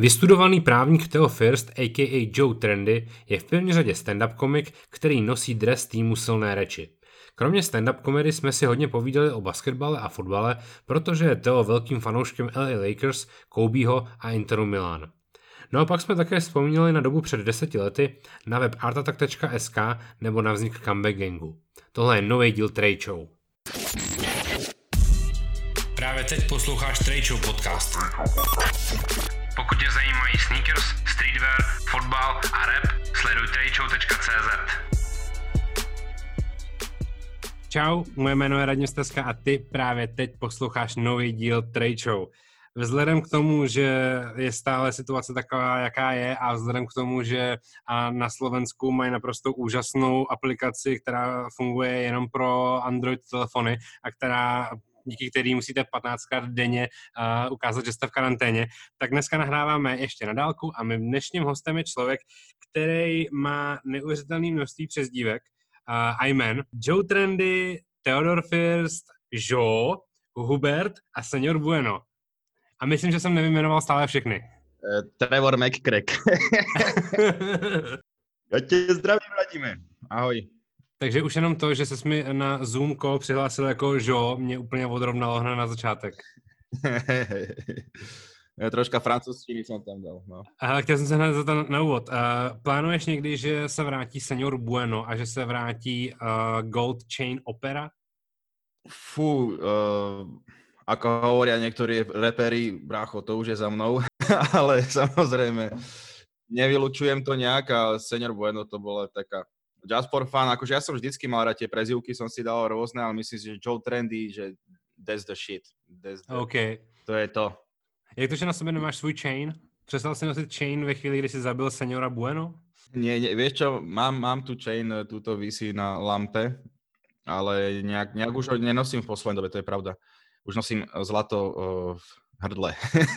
Vystudovaný právník Theo First, a.k.a. Joe Trendy, je v první řadě stand-up komik, který nosí dres týmu Silné reči. Kromě stand-up komedy jsme si hodně povídali o basketbale a fotbale, protože je Theo velkým fanouškem LA Lakers, Kobeho a Interu Milan. No a pak jsme také vzpomínali na dobu před 10 lety, na web artatak.sk nebo na vznik Comeback Gangu. Tohle je nový díl Trade Show. Právě teď posloucháš Trade Show podcast. Pokud tě zajímají sneakers, streetwear, fotbal a rap, sleduj tradeshow.cz. Čau, moje jméno je Radim Stezka a ty právě teď posloucháš nový díl Trade Show. Vzhledem k tomu, že je stále situace taková, jaká je, a vzhledem k tomu, že na Slovensku mají naprosto úžasnou aplikaci, která funguje jenom pro Android telefony a díky který musíte 15krát denně ukázat, že jste v karanténě, tak dneska nahráváme ještě na dálku a mým dnešním hostem je člověk, který má neuvěřitelné množství přezdívek a jmen. Joe Trendy, Theodor First, Joe, Hubert a Senior Bueno. A myslím, že jsem nevyjmenoval stále všechny. Trevor McCrack. Já tě zdravím, Radime. Ahoj. Takže už jenom to, že ses mi na Zoom call přihlásil jako Joe, mě úplně odrovnalo hned na začátek. Troška francouzštiny jsem tam dal. No. Chtěl jsem se hned za to na úvod. Plánuješ někdy, že se vrátí Senior Bueno a že se vrátí Gold Chain Opera? Ako hovoria niektorí reperi, brácho, to už je za mnou, ale samozrejme nevylučujem to nejak a Senior Bueno to bola taká just for fun, akože ja som vždycky mal rád tie prezývky, som si dal rôzne, ale myslím si, že Joe Trendy, že that's the shit. OK. To je to. Jak to, že na sebe nemáš svůj chain? Přestal si nosit chain ve chvíli, kdy si zabil Seniora Bueno? Nie, vieš čo, mám tu chain, túto visí na lampe, ale nejak už ho nenosím v poslednej dobe, to je pravda. Už nosím zlato v hrdle.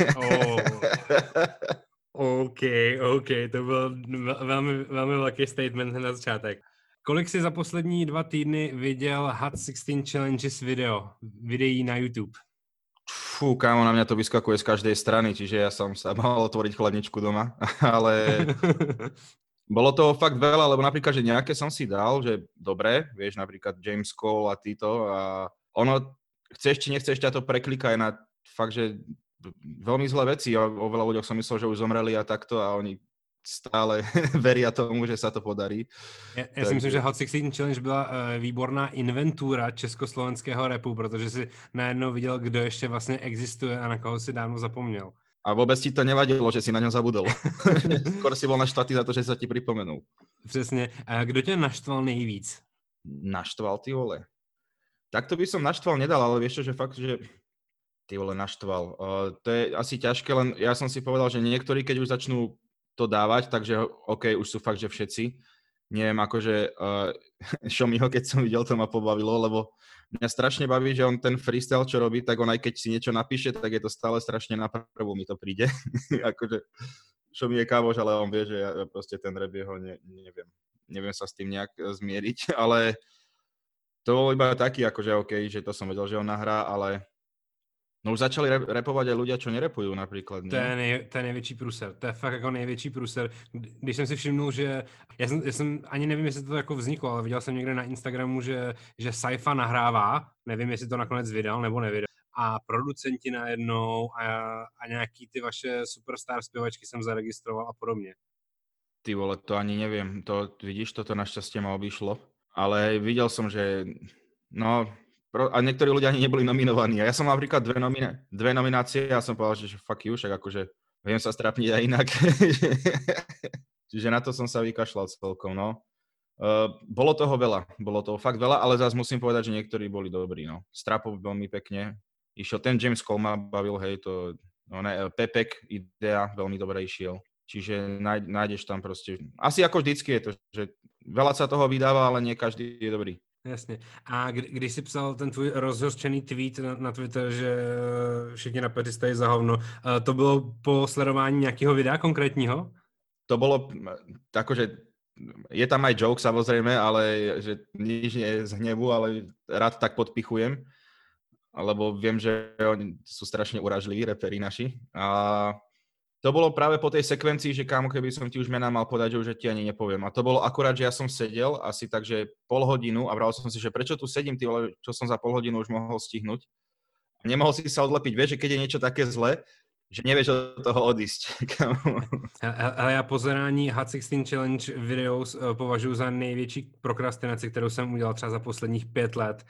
OK, to byl velmi velký statement na začátek. Kolik jsi za poslední 2 týdny viděl Hot 16 Challenges videí na YouTube? Kámo, na mňa to vyskakuje z každej strany, čiže ja som sa mal otvoriť chladničku doma, ale bolo toho fakt veľa, lebo napríklad, že nejaké som si dal, že dobre, vieš, napríklad James Cole a títo a ono, chceš či nechceš, ťa to prekliká aj na fakt, že veľmi zlé veci. O veľa ľuďoch som myslel, že už zomreli a takto a oni stále veria tomu, že sa to podarí. Já si myslím, že Hot 16 Challenge byla výborná inventura československého rapu, protože si najednou viděl, kdo ještě vlastně existuje a na koho si dávno zapomněl. A vôbec ti to nevadilo, že si na ňom zabudol. Skôr si bol naštvatý za to, že sa ti pripomenul. Přesně. A kdo tě naštval nejvíc? Naštval, ty vole? Tak to by som naštval nedal, ale vieš čo, že fakt, že ty vole naštval. To je asi ťažké, len ja som si povedal, že niektorí, keď už začnú to dávať, takže OK, už sú fakt, že všetci. Neviem, akože Šomiho, keď som videl, to ma pobavilo, lebo mňa strašne baví, že on ten freestyle, čo robí, tak on aj keď si niečo napíše, tak je to stále strašne na prvú, mi to príde. Akože Šomi je kávoš, ale on vie, že ja proste ten rap jeho neviem sa s tým nejak zmieriť, ale to bol iba taký, akože OK, že to som vedel, že on nahrá, ale no už začali repovať aj ľudia, čo nerepujú napríklad. To je největší průser. To je fakt jako největší průser. Když jsem si všimnul, že já jsem ani nevím, jestli to jako vzniklo, ale viděl jsem někde na Instagramu, že Saifa nahrává, nevím, jestli to nakonec vydal nebo nevydal. A producenti najednou a nějaký ty vaše superstar zpěvačky jsem zaregistroval a podobně. Ty vole, to ani neviem. To vidíš, toto našťastie ma obišlo. Ale videl som, že a niektorí ľudia ani neboli nominovaní. A ja som mal napríklad dve nominácie a som povedal, že fuck you, však akože viem sa strapniť aj inak. Čiže na to som sa vykašľal celkom, no. Bolo toho fakt veľa, ale zase musím povedať, že niektorí boli dobrí, no. Strapov veľmi pekne išiel, ten James Cole ma bavil, hej, Pepek Idea veľmi dobre išiel. Čiže nájdeš tam proste, asi ako vždycky je to, že veľa sa toho vydáva, ale nie každý je dobrý. Jasně. A když jsi psal ten tvůj rozhořčený tweet na Twitter, že všichni rapeři stojí za hovno, to bylo po sledování nějakého videa konkrétního? To bolo, akože je tam aj joke samozrejme, ale že nič nie je z hnevu, ale rád tak podpichujem, lebo viem, že oni sú strašne uražliví, reperi naši. A to bolo práve po tej sekvencii, že kámo, keby som ti už mená mal podať, že už ti ani nepoviem. A to bolo akurát, že ja som sedel asi takže pol hodinu a bral som si, že prečo tu sedím, ty vole, čo som za pol hodinu už mohol stihnúť. A nemohol si sa odlepiť. Vieš, že keď je niečo také zlé, že nevieš od toho odísť. Ale já pozerání Hot 16 Challenge videos považuji za největší prokrastinaci, kterou jsem udělal třeba za posledních 5 let.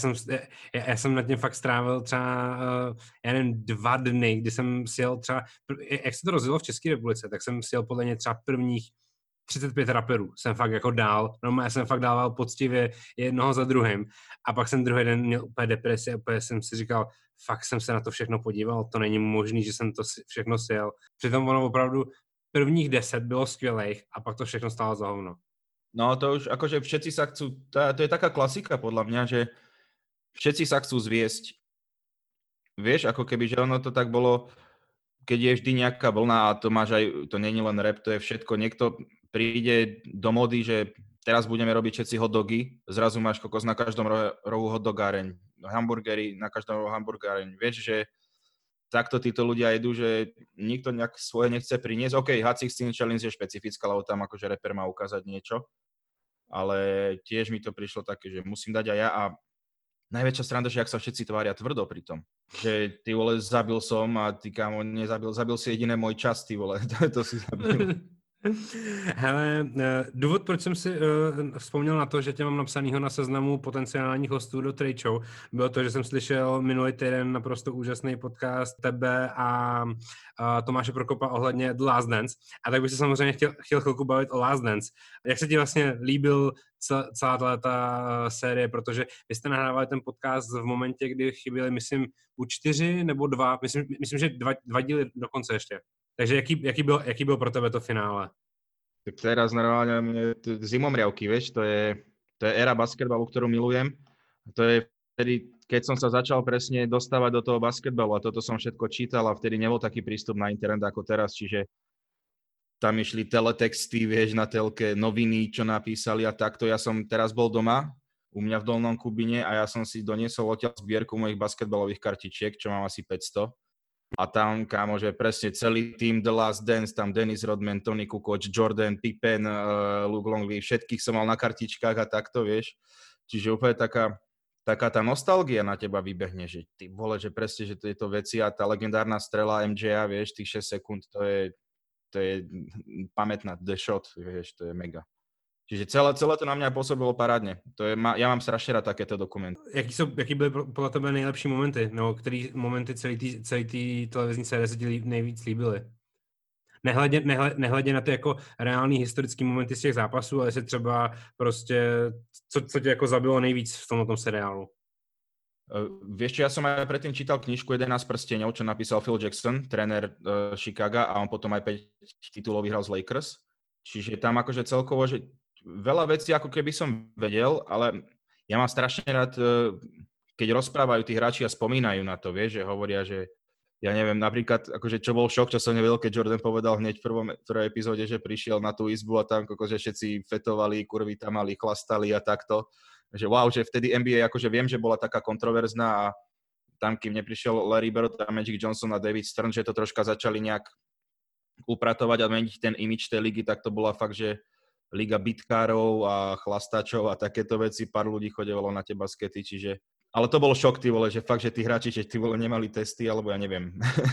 Já jsem nad tím fakt strávil třeba, já nevím, 2 dny, kdy jsem sjel třeba, jak se to rozjelo v České republice, tak jsem sjel podle mě třeba prvních 35 raperů jsem fakt jako dál, no já jsem fakt dával poctivě jednoho za druhým a pak jsem druhý den měl úplně depresi a úplně jsem si říkal, fakt jsem se na to všechno podíval, to není možný, že jsem to všechno sjel. Přitom ono opravdu prvních 10 bylo skvělých a pak to všechno stálo za hovno. No to už akože všetci sa chcú, to je taká klasika podľa mňa, že všetci sa chcú zviesť. Vieš, ako keby, že ono to tak bolo, keď je vždy nejaká vlna a to máš aj, to není len rap, to je všetko, niekto príde do mody, že teraz budeme robiť všetci hotdogy, zrazu máš kokos na každom rohu hotdogáreň, hamburgery na každom rohu hamburgáreň, vieš, že takto títo ľudia idú, že nikto nejak svoje nechce priniesť. OK, Hot 16 Challenge je špecifická, lebo tam akože rapper má ukázať niečo, ale tiež mi to prišlo také, že musím dať aj ja a najväčšia sranda, že ak sa všetci tvária tvrdo pri tom. Že ty vole, zabil som a ty kámo, zabil si jediné môj čas, ty vole, to si zabil. Hele, důvod, proč jsem si vzpomněl na to, že tě mám napsanýho na seznamu potenciálních hostů do Trade Show, bylo to, že jsem slyšel minulý týden naprosto úžasný podcast tebe a Tomáše Prokopa ohledně The Last Dance. A tak bych se samozřejmě chtěl chvilku bavit o Last Dance. Jak se ti vlastně líbil celá ta série, protože vy jste nahrávali ten podcast v momentě, kdy chyběli, myslím, buď 4 nebo 2, myslím že 2 díly dokonce ještě. Takže jaký byl pro tebe to finále? Tak teraz normálne zimomriavky, vieš, to je éra basketbalu, ktorú milujem. To je vtedy, keď som sa začal presne dostávať do toho basketbalu a toto som všetko čítal a vtedy nebol taký prístup na internet ako teraz, čiže tam išli teletexty, vieš, na telke, noviny, čo napísali a takto. Ja som teraz bol doma u mňa v Dolnom Kubine a ja som si doniesol odtiaľ zbierku mojich basketbalových kartičiek, čo mám asi 500. A tam, kámo, že presne celý tým The Last Dance, tam Dennis Rodman, Tony Kukoc, Jordan, Pippen, Luke Longley, všetkých som mal na kartičkách a takto, vieš. Čiže úplne taká tá nostalgia na teba vybehne, že ty vole, že presne, že tieto veci a tá legendárna strela MJ-a, vieš, tých 6 sekúnd, to je pamätná, the shot, vieš, to je mega. Čiže celé to na mňa pôsobilo parádne. Ja mám strašne rád takéto dokumenty. Jaký byly podle tebe nejlepší momenty? No, který momenty celé té televizní série se ti nejvíc líbily? Nehledě na ty jako reální historické momenty z těch zápasů, ale jestli třeba prostě, co tě jako zabilo nejvíc v tomto seriálu? Vieš čo, ja som aj predtým čítal knižku 11 prsteňov, čo napísal Phil Jackson, tréner Chicaga a on potom aj 5 titulov vyhral z Lakers. Čiže tam akože celkovo, že veľa vecí ako keby som vedel, ale ja mám strašne rád, keď rozprávajú tí hráči a spomínajú na to, vieš, že hovoria, že ja neviem, napríklad, akože čo bol šok, čo som nevedel, keď Jordan povedal hneď v prvej epizóde, že prišiel na tú izbu a tam akože všetci fetovali, kurvy tam mali, chlastali a takto. Že wow, že vtedy NBA, akože viem, že bola taká kontroverzná a tam, kým neprišiel Larry Bird a Magic Johnson a David Stern, že to troška začali nejak upratovať a meniť ten imidž tej ligy, tak to bola fakt, že liga bitkárov a chlastačov a takéto veci, pár ľudí chodevalo na tie baskety, čiže... Ale to bol šok, ty vole, že fakt, že tí hráči, že tí vole nemali testy, alebo ja neviem.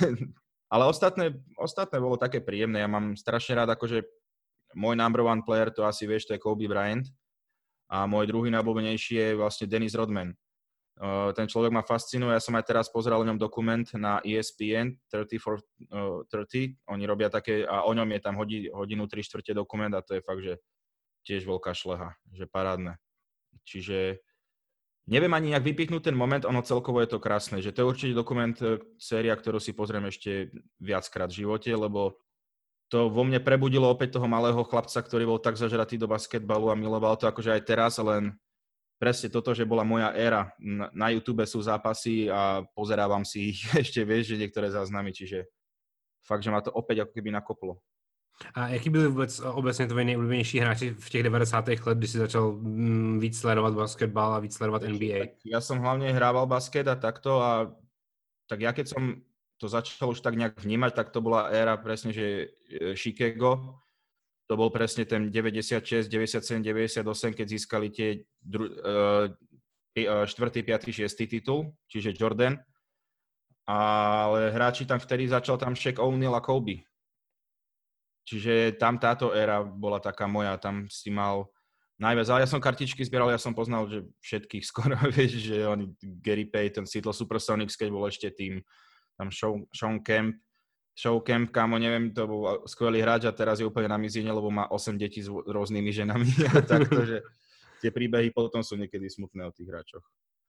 Ale ostatné bolo také príjemné, ja mám strašne rád, akože môj number one player, to asi vieš, to je Kobe Bryant a môj druhý najobľúbenejší je vlastne Dennis Rodman. Ten človek ma fascinuje, ja som aj teraz pozeral o ňom dokument na ESPN 30 for 30, oni robia také, a o ňom je tam hodinu 3/4 dokument a to je fakt, že tiež veľká šleha, že parádne. Čiže neviem ani nejak vypichnúť ten moment, ono celkovo je to krásne, že to je určite dokument, séria, ktorú si pozriem ešte viackrát v živote, lebo to vo mne prebudilo opäť toho malého chlapca, ktorý bol tak zažratý do basketbalu a miloval to akože aj teraz, len presne toto, že bola moja éra. Na YouTube sú zápasy a pozerávam si ich ešte, vieš, že niektoré záznamy, čiže fakt, že ma to opäť ako keby nakoplo. A jaký byli vůbec obecně tvoji nejoblíbenější hráči v těch 90. let, kdy si začal víc sledovat basketbal a víc sledovat NBA? Ja som hlavne hrával basket a takto a tak ja keď som to začal už tak nejak vnímať, tak to bola éra presne, že Chicago, to bol presne ten 96, 97, 98, keď získali tie 4., 5., 6. titul, čiže Jordan. Ale hráči tam vtedy začal tam Shaq O'Neal a Kobe. Čiže tam táto éra bola taká moja, tam si mal najviac. Ale ja som kartičky zbieral, ja som poznal, že všetkých skoro, vieš, že oni, Gary Payton, Seattle Supersonics, keď bol ešte tým, tam Sean Kemp, kámo, neviem, to bol skvelý hráč a teraz je úplne na mizine, lebo má 8 detí s rôznymi ženami a takto, že tie príbehy potom sú niekedy smutné o tých hráčoch.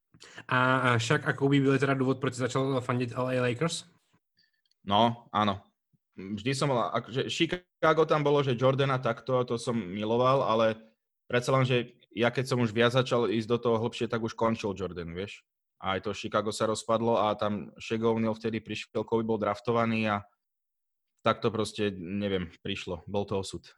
A Shaq a Kobe byli teda důvod, proč začal fandit LA Lakers? No, áno. Vždy som mal, akože Chicago tam bolo, že Jordana takto, to som miloval, ale predsa len, že ja keď som už viac začal ísť do toho hlbšie, tak už končil Jordan, vieš. A aj to Chicago sa rozpadlo a tam Shaq O'Neal vtedy prišiel, Kobe bol draftovaný a tak to prostě, nevím, přišlo. Byl to osud.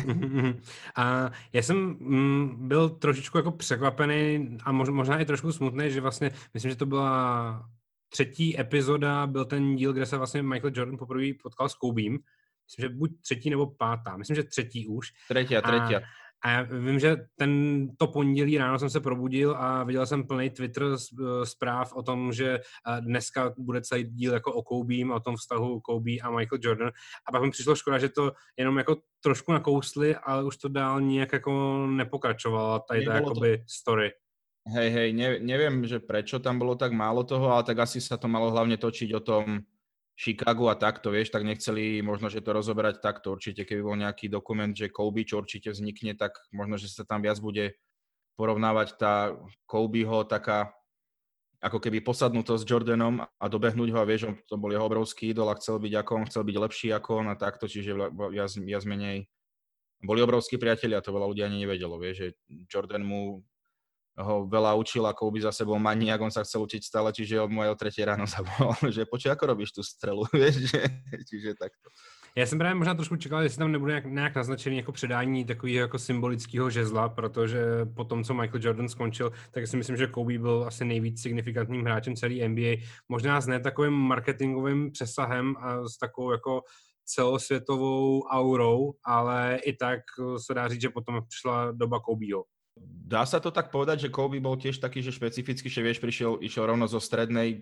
A já jsem byl trošičku jako překvapený a možná i trošku smutný, že vlastně, myslím, že to byla 3. epizoda, byl ten díl, kde se vlastně Michael Jordan poprvé potkal s Kobem. Myslím, že buď 3. nebo 5. Myslím, že 3. už. Třetí. A já vím, že to pondělí ráno jsem se probudil a viděl jsem plný Twitter zpráv o tom, že dneska bude celý díl jako o Kobem, o tom vztahu Kobe a Michael Jordan. A pak mi přišlo škoda, že to jenom jako trošku nakousli, ale už to dál nijak jako nepokračovalo, tady ta jakoby story. Hej, neviem, že prečo tam bolo tak málo toho, ale tak asi sa to malo hlavne točiť o tom Chicagu a takto, vieš, tak nechceli možno, že to rozoberať takto. Určite, keby bol nejaký dokument, že Kobe, čo určite vznikne, tak možno, že sa tam viac bude porovnávať tá Kobeho taká ako keby posadnutosť s Jordanom a dobehnúť ho a vieš, to bol jeho obrovský idol a chcel byť ako on, chcel byť lepší ako on a takto, čiže viac menej boli obrovskí priatelia, to veľa ľudí ani nevedelo, vieš, že Jordan mu ho veľa učil a Kobe za sebou maniak, on sa chcel učiť stále, čiže od mojej o 3 ráno zavolal, že počuj, ako robíš tú strelu, vieš, čiže takto. Já jsem právě možná trošku čekal, jestli tam nebude nějak naznačený jako předání takového jako symbolického žezla, protože po tom, co Michael Jordan skončil, tak si myslím, že Kobe byl asi nejvíc signifikantním hráčem celé NBA. Možná s ne takovým marketingovým přesahem a s takovou jako celosvětovou aurou, ale i tak se dá říct, že potom přišla doba Kobeho. Dá sa to tak povedať, že Kobe bol tiež taký, že špecificky, že vieš, išiel rovno zo strednej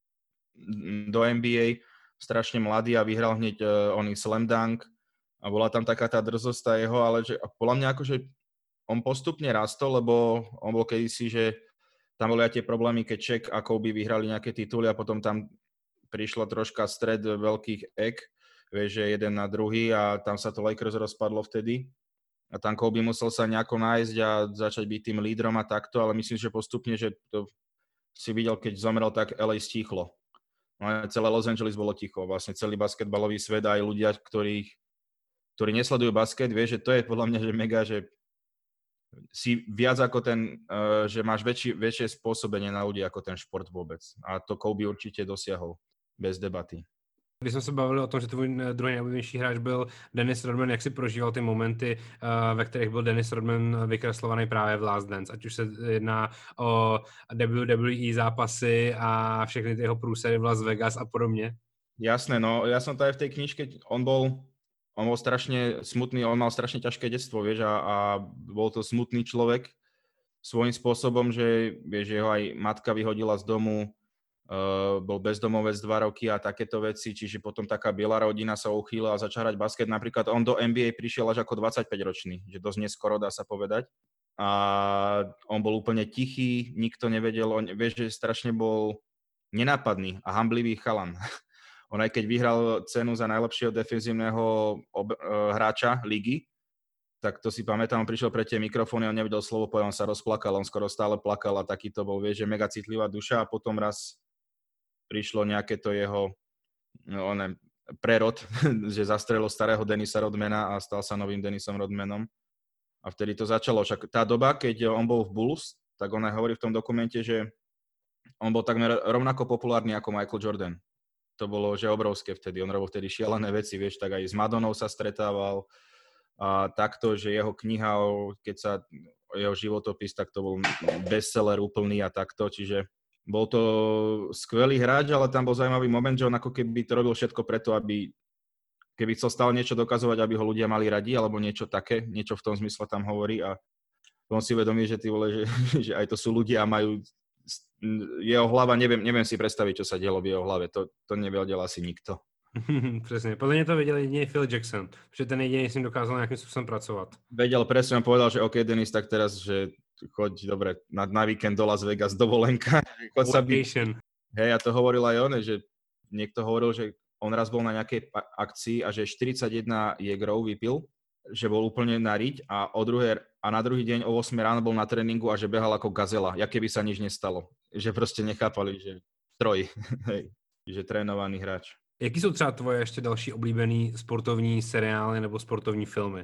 do NBA, strašne mladý a vyhral hneď oný slam dunk a bola tam taká tá drzosť tá jeho, ale že podľa mňa akože on postupne rastol, lebo on bol kedysi, že tam boli aj tie problémy, keď Shaq a Kobe vyhrali nejaké tituly a potom tam prišla troška stred veľkých ek, vieš, že jeden na druhý a tam sa to Lakers rozpadlo vtedy. A tam Kobe musel sa nejako nájsť a začať byť tým lídrom a takto, ale myslím, že postupne, že to si videl, keď zomrel, tak LA stichlo. No celé Los Angeles bolo ticho, vlastne celý basketbalový svet aj ľudia, ktorí nesledujú basket, vieš, že to je podľa mňa, že mega, že si viac ako ten, že máš väčšie spôsobenie na ľudí ako ten šport vôbec. A to Kobe určite dosiahol, bez debaty. Když jsme se bavili o tom, že tvůj druhý nejoblíbenější hráč byl Dennis Rodman, jak si prožíval ty momenty, ve kterých byl Dennis Rodman vykreslovaný právě v Last Dance, ať už se jedná o WWE zápasy a všechny ty jeho průsery v Las Vegas a podobně? Jasné, no ja som to aj v tej knižke, on bol strašne smutný, on mal strašne ťažké detstvo, vieš, a bol to smutný človek svojím spôsobom, že vieš, jeho aj matka vyhodila z domu, bol bezdomovec 2 roky a takéto veci, čiže potom taká biela rodina sa uchýlila a začal hrať basket. Napríklad on do NBA prišiel až ako 25-ročný, že dosť neskoro dá sa povedať. A on bol úplne tichý, nikto nevedel, vieš, že strašne bol nenápadný a hamblivý chalan. On aj keď vyhral cenu za najlepšieho defenzívneho hráča ligy, tak to si pamätám, on prišiel pre tie mikrofóny, on nevedel slovo povedať, on sa rozplakal, on skoro stále plakal a taký to bol, vieš, že mega citlivá duša a potom raz prišlo nejaké to jeho prerod, že zastrelil starého Dennisa Rodmana a stal sa novým Dennisom Rodmanom. A vtedy to začalo. Však tá doba, keď on bol v Bulls, tak on aj hovorí v tom dokumente, že on bol takmer rovnako populárny ako Michael Jordan. To bolo, že obrovské vtedy. On robil vtedy šialené veci, vieš, tak aj s Madonou sa stretával a takto, že jeho kniha, keď sa jeho životopis, tak to bol bestseller úplný a takto, čiže Bol to skvelý hráč, ale tam bol zaujímavý moment, že on ako keby to robil všetko preto, aby keby chcel stále niečo dokazovať, aby ho ľudia mali radi, alebo niečo také, niečo v tom zmysle tam hovorí a on si uvedomí, že ty vole, že aj to sú ľudia a majú jeho hlava, neviem si predstaviť, čo sa dialo v jeho hlave, to nevedel asi nikto. Přesně, podle mě to věděl jediný Phil Jackson, protože ten jediný s ním dokázal nějakým způsobem pracovat. Vedel presne, on povedal, že OK, Denis, tak teraz, že choď, dobre, na víkend do Las Vegas, dovolenka, choď sa byť. Hej, a to hovoril aj on, že niekto hovoril, že on raz bol na nejakej akcii a že 41 jegrov vypil, že bol úplne na riť a na druhý deň o 8 ráno bol na tréningu a že behal ako gazela, jak keby sa nič nestalo. Že proste nechápali, že stroj, hej, že trénovaný hráč. Jaký jsou třeba tvoje ještě další oblíbený sportovní seriály nebo sportovní filmy?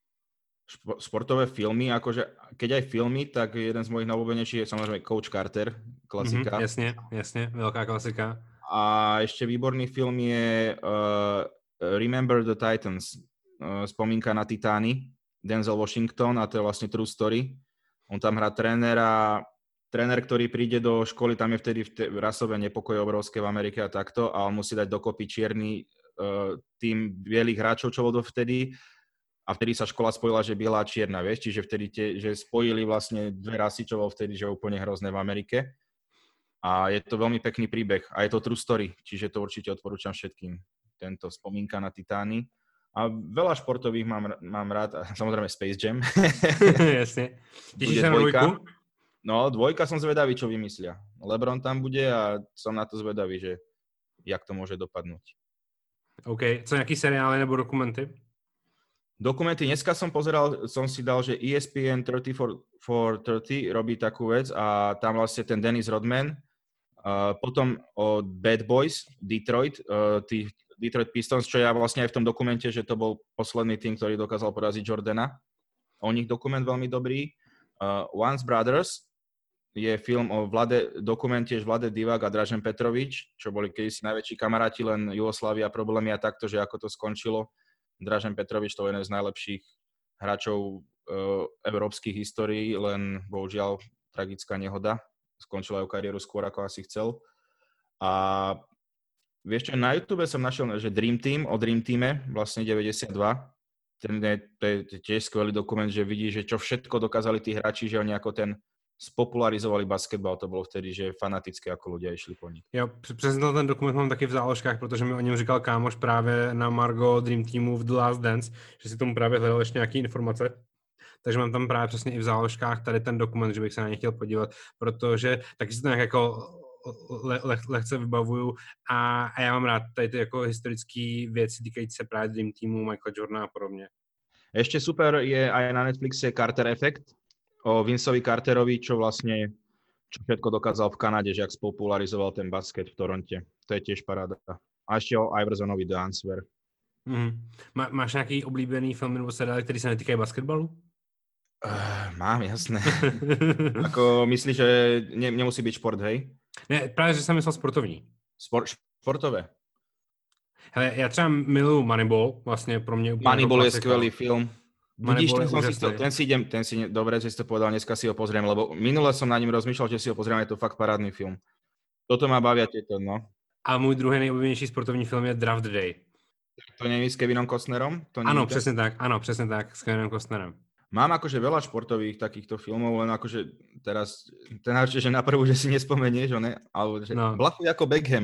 Sportové filmy, akože keď aj filmy, tak jeden z mojich najobľúbenejších je samozrejme Coach Carter, klasika. Jasne, veľká klasika. A ešte výborný film je Remember the Titans, spomínka na Titány, Denzel Washington, a to je vlastne true story. On tam hrá tréner, ktorý príde do školy, tam je vtedy rasové nepokoje obrovské v Amerike a takto, a on musí dať dokopy čierny tým bielých hráčov, čo bol dovtedy, a vtedy sa škola spojila, že biela a čierna, vieš, čiže vtedy že spojili vlastne dve rasy, čo bol vtedy, že úplne hrozné v Amerike. A je to veľmi pekný príbeh a je to true story, čiže to určite odporúčam všetkým. Tento spomínka na Titány. A veľa športových mám rád, a samozrejme Space Jam. Jasne. Tešíš sa na dvojku? No, dvojka som zvedavý, čo vymyslia. LeBron tam bude a som na to zvedavý, že jak to môže dopadnúť. OK. Co nejaký seriály nebo dokumenty? Dokumenty, dneska som si dal, že ESPN 30 for 30 robí takú vec a tam vlastne ten Dennis Rodman, potom o Bad Boys, Detroit Pistons, čo ja vlastne aj v tom dokumente, že to bol posledný tým, ktorý dokázal poraziť Jordana. O nich dokument veľmi dobrý. Once Brothers je film o dokument tiež Vlade Divac a Dražen Petrovič, čo boli kedysi najväčší kamaráti, len Jugoslávia problémy a takto, že ako to skončilo. Dražen Petrovič to je jeden z najlepších hráčov európskych histórií, len bohužiaľ tragická nehoda. Skončila jeho kariéru skôr, ako asi chcel. A vieš čo, na YouTube som našiel, že Dream Team, o Dream Teame, vlastne 92. To je tiež skvelý dokument, že vidí, že čo všetko dokázali tí hráči, že oni ako ten spopularizovali basketbal, to bylo vtedy, že fanatické, jako ľudia išli po nich. Jo, přesně ten dokument mám taky v záložkách, protože mi o něm říkal kámoš právě na Margo Dream Teamu v The Last Dance, že si tomu právě hledal ještě nějaké informace. Takže mám tam právě přesně i v záložkách tady ten dokument, že bych se na ně chtěl podívat, protože taky si to nějak jako lehce vybavuju a já mám rád tady ty jako historické věci týkající se právě Dream Teamu, Michaela Jordana a podobně. Ešte super je aj na Netflixe Carter Effect, o Vinceovi Carterovi, čo všetko dokázal v Kanade, že jak spopularizoval ten basket v Toronte. To je tiež paráda. A ešte o Iversonovi The Answer. Máš nějaký oblíbený film nebo seriál, který se netýkají basketbalu? Mám, jasné. Ako myslíš, že nemusí byť šport, hej? Ne, právě, že jsem myslel sportovní. Športové. Hele, já třeba miluju Moneyball, vlastně pro mě úplně Moneyball je skvelý film. Vidíš, ten si dobre, že si to povedal, dneska si ho pozriem, lebo minule som na ním rozmýšľal, že si ho pozriem, je to fakt parádny film. Toto ma bavia tieto, no. A můj druhý nejoblíbenější sportovní film je Draft Day. To nie je s Kevinom Costnerom? Ano, přesně tak, s Kevinem Costnerem. Mám akože veľa športových takýchto filmov, len akože teraz, ten že na prvú, že si nespomenieš, ne? Alebo že Blachuj ako Beckham.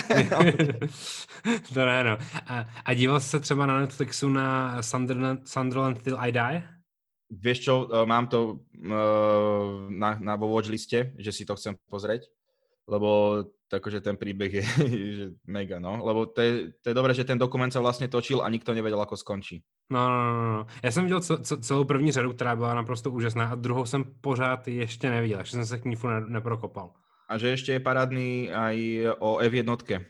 To ne, no. A díval jsi se třeba na Netflixu na Sunderland Till I Die? Vieš čo, mám to na watchliste, že si to chcem pozrieť, lebo takže ten príbeh je že mega, no. Lebo to je dobré, že ten dokument sa vlastne točil a nikto nevedel, ako skončí. No. Já jsem viděl celou první řadu, která byla naprosto úžasná a druhou jsem pořád ještě neviděl, že jsem se k ní neprokopal. A že ešte je parádny aj o F1,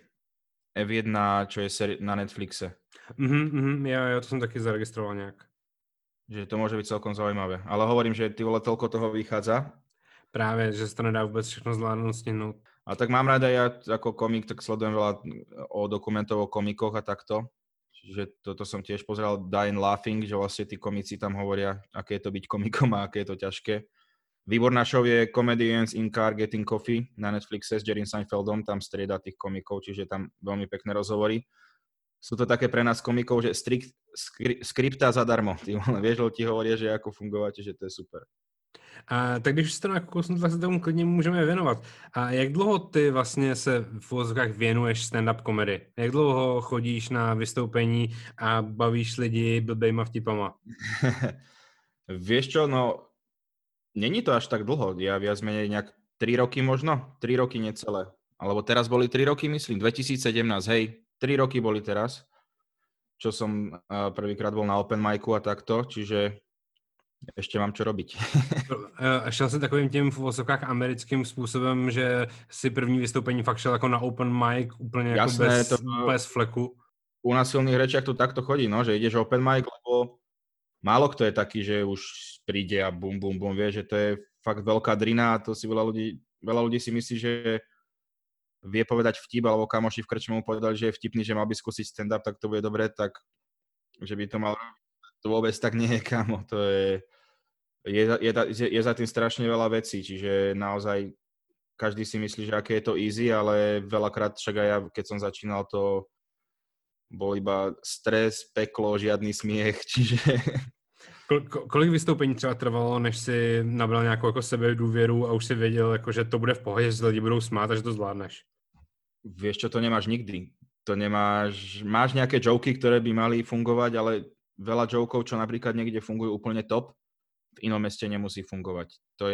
čo je na Netflixe. Jo, to jsem taky zaregistroval nějak. Že to môže byť celkom zaujímavé. Ale hovorím, že ty vole, toľko toho vychádza. Právě, že se to nedá vůbec všechno zvládnout, stihnout. A tak mám rád aj ja ako komik, tak sledujem veľa o dokumentov o komikoch a takto. Čiže toto som tiež pozeral Dying Laughing, že vlastne tí komici tam hovoria, aké je to byť komikom a aké je to ťažké. Výborná show je Comedians in Car Getting Coffee na Netflixe s Jerrym Seinfeldom, tam strieda tých komikov, čiže tam veľmi pekné rozhovory. Sú to také pre nás komikov, že skripta zadarmo. Ty vieš, ti hovoria, že ako fungovať, že to je super. Tak když jste na kousnu, tak se tomu klidně můžeme věnovat. A jak dlouho ty vlastně se v uvozovkách věnuješ stand-up komedy? Jak dlouho chodíš na vystoupení a bavíš lidi blbejma vtipama? Vieš čo, no, není to až tak dlho. Ja viac menej nejak 3 roky možno, 3 roky necelé. Alebo teraz boli 3 roky, myslím, 2017, hej, 3 roky boli teraz, čo som prvýkrát bol na open micu a takto, čiže ešte mám čo robiť. Šel jsi takovým tím v uvozovkách americkým způsobem, že si první vystoupení fakt šel jako na open mic, úplně jako Jasné, bez fleku? U nás v silných rečiach to takto chodí, no, že ideš open mic, lebo málo kto je taký, že už príde a bum, bum, bum, vie, že to je fakt veľká drina a to si veľa ľudí si myslí, že vie povedať vtip, alebo kamoši v krčme mu povedali, že je vtipný, že mal by skúsiť stand-up, tak to bude dobre, tak že by to mal, to vôbec tak nie je, kámo, to je za tým strašne veľa vecí, čiže naozaj každý si myslí, že aké je to easy, ale veľakrát však aj ja, keď som začínal, to bol iba stres, peklo, žiadny smiech, čiže... Kolik vystoupení třeba trvalo, než si nabral nějakou jako sebedůvěru a už si věděl, jako, že to bude v pohodě, že se lidi budou smát a že to zvládneš? Vieš čo, to nemáš nikdy. Máš nejaké joky, ktoré by mali fungovať, ale veľa jokov, čo napríklad niekde fungujú úplne top, v inom meste nemusí fungovať.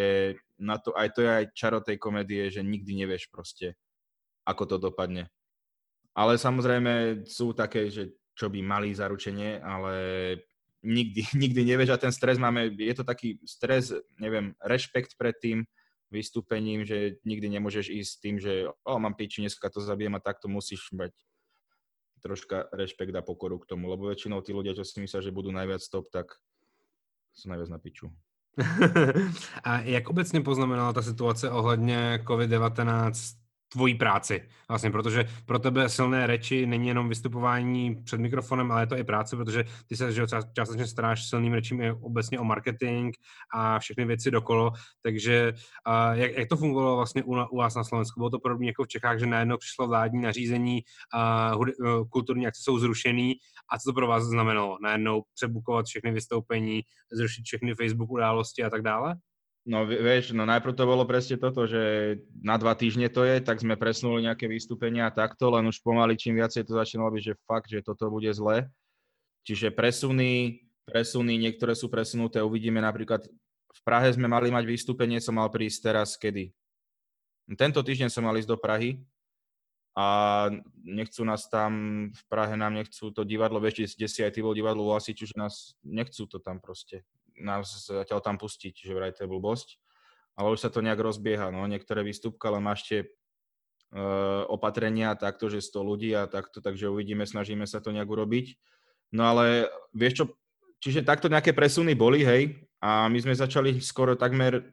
Aj to je aj čaro tej komédie, že nikdy nevieš proste, ako to dopadne. Ale samozrejme sú také, že čo by mali zaručenie, ale nikdy nevieš a ten stres je to taký stres, neviem, rešpekt pred tým vystúpením, že nikdy nemôžeš ísť s tým, že mám piči, dneska to zabijem a takto musíš mať troška rešpekt a pokoru k tomu, lebo väčšinou tí ľudia, čo si myslia, že budú najviac top, tak sú najviac na piču. A jak obecně poznamenala ta situace ohledně COVID-19 tvojí práci vlastně, protože pro tebe silné reči není jenom vystupování před mikrofonem, ale je to i práce, protože ty se částečně staráš silným rečím i obecně o marketing a všechny věci dokolo, takže jak to fungovalo vlastně u vás na Slovensku? Bylo to podobně jako v Čechách, že najednou přišlo vládní nařízení, kulturní akce jsou zrušený a co to pro vás znamenalo? Najednou přebukovat všechny vystoupení, zrušit všechny Facebook události a tak dále? No vieš, najprv to bolo presne toto, že na 2 týždne to je, tak sme presunuli nejaké vystúpenia a takto, len už pomaly čím viacej to začínalo byť, že fakt, že toto bude zle. Čiže presuny, niektoré sú presunuté, uvidíme napríklad, v Prahe sme mali mať vystúpenie, som mal prísť teraz kedy? Tento týždeň som mal ísť do Prahy a nechcú nás tam, v Prahe nám nechcú to divadlo, vieš, kde si aj ty bol divadlo u Lasiču, že nás nechcú to tam proste. Nás zatiaľ tam pustiť, že vraj to je blbosť. Ale už sa to nejak rozbieha, no, niektoré výstupka, ale máš tie opatrenia takto, že 100 ľudí a takto, takže uvidíme, snažíme sa to nejak urobiť. No ale vieš čo, čiže takto nejaké presuny boli, hej, a my sme začali skoro takmer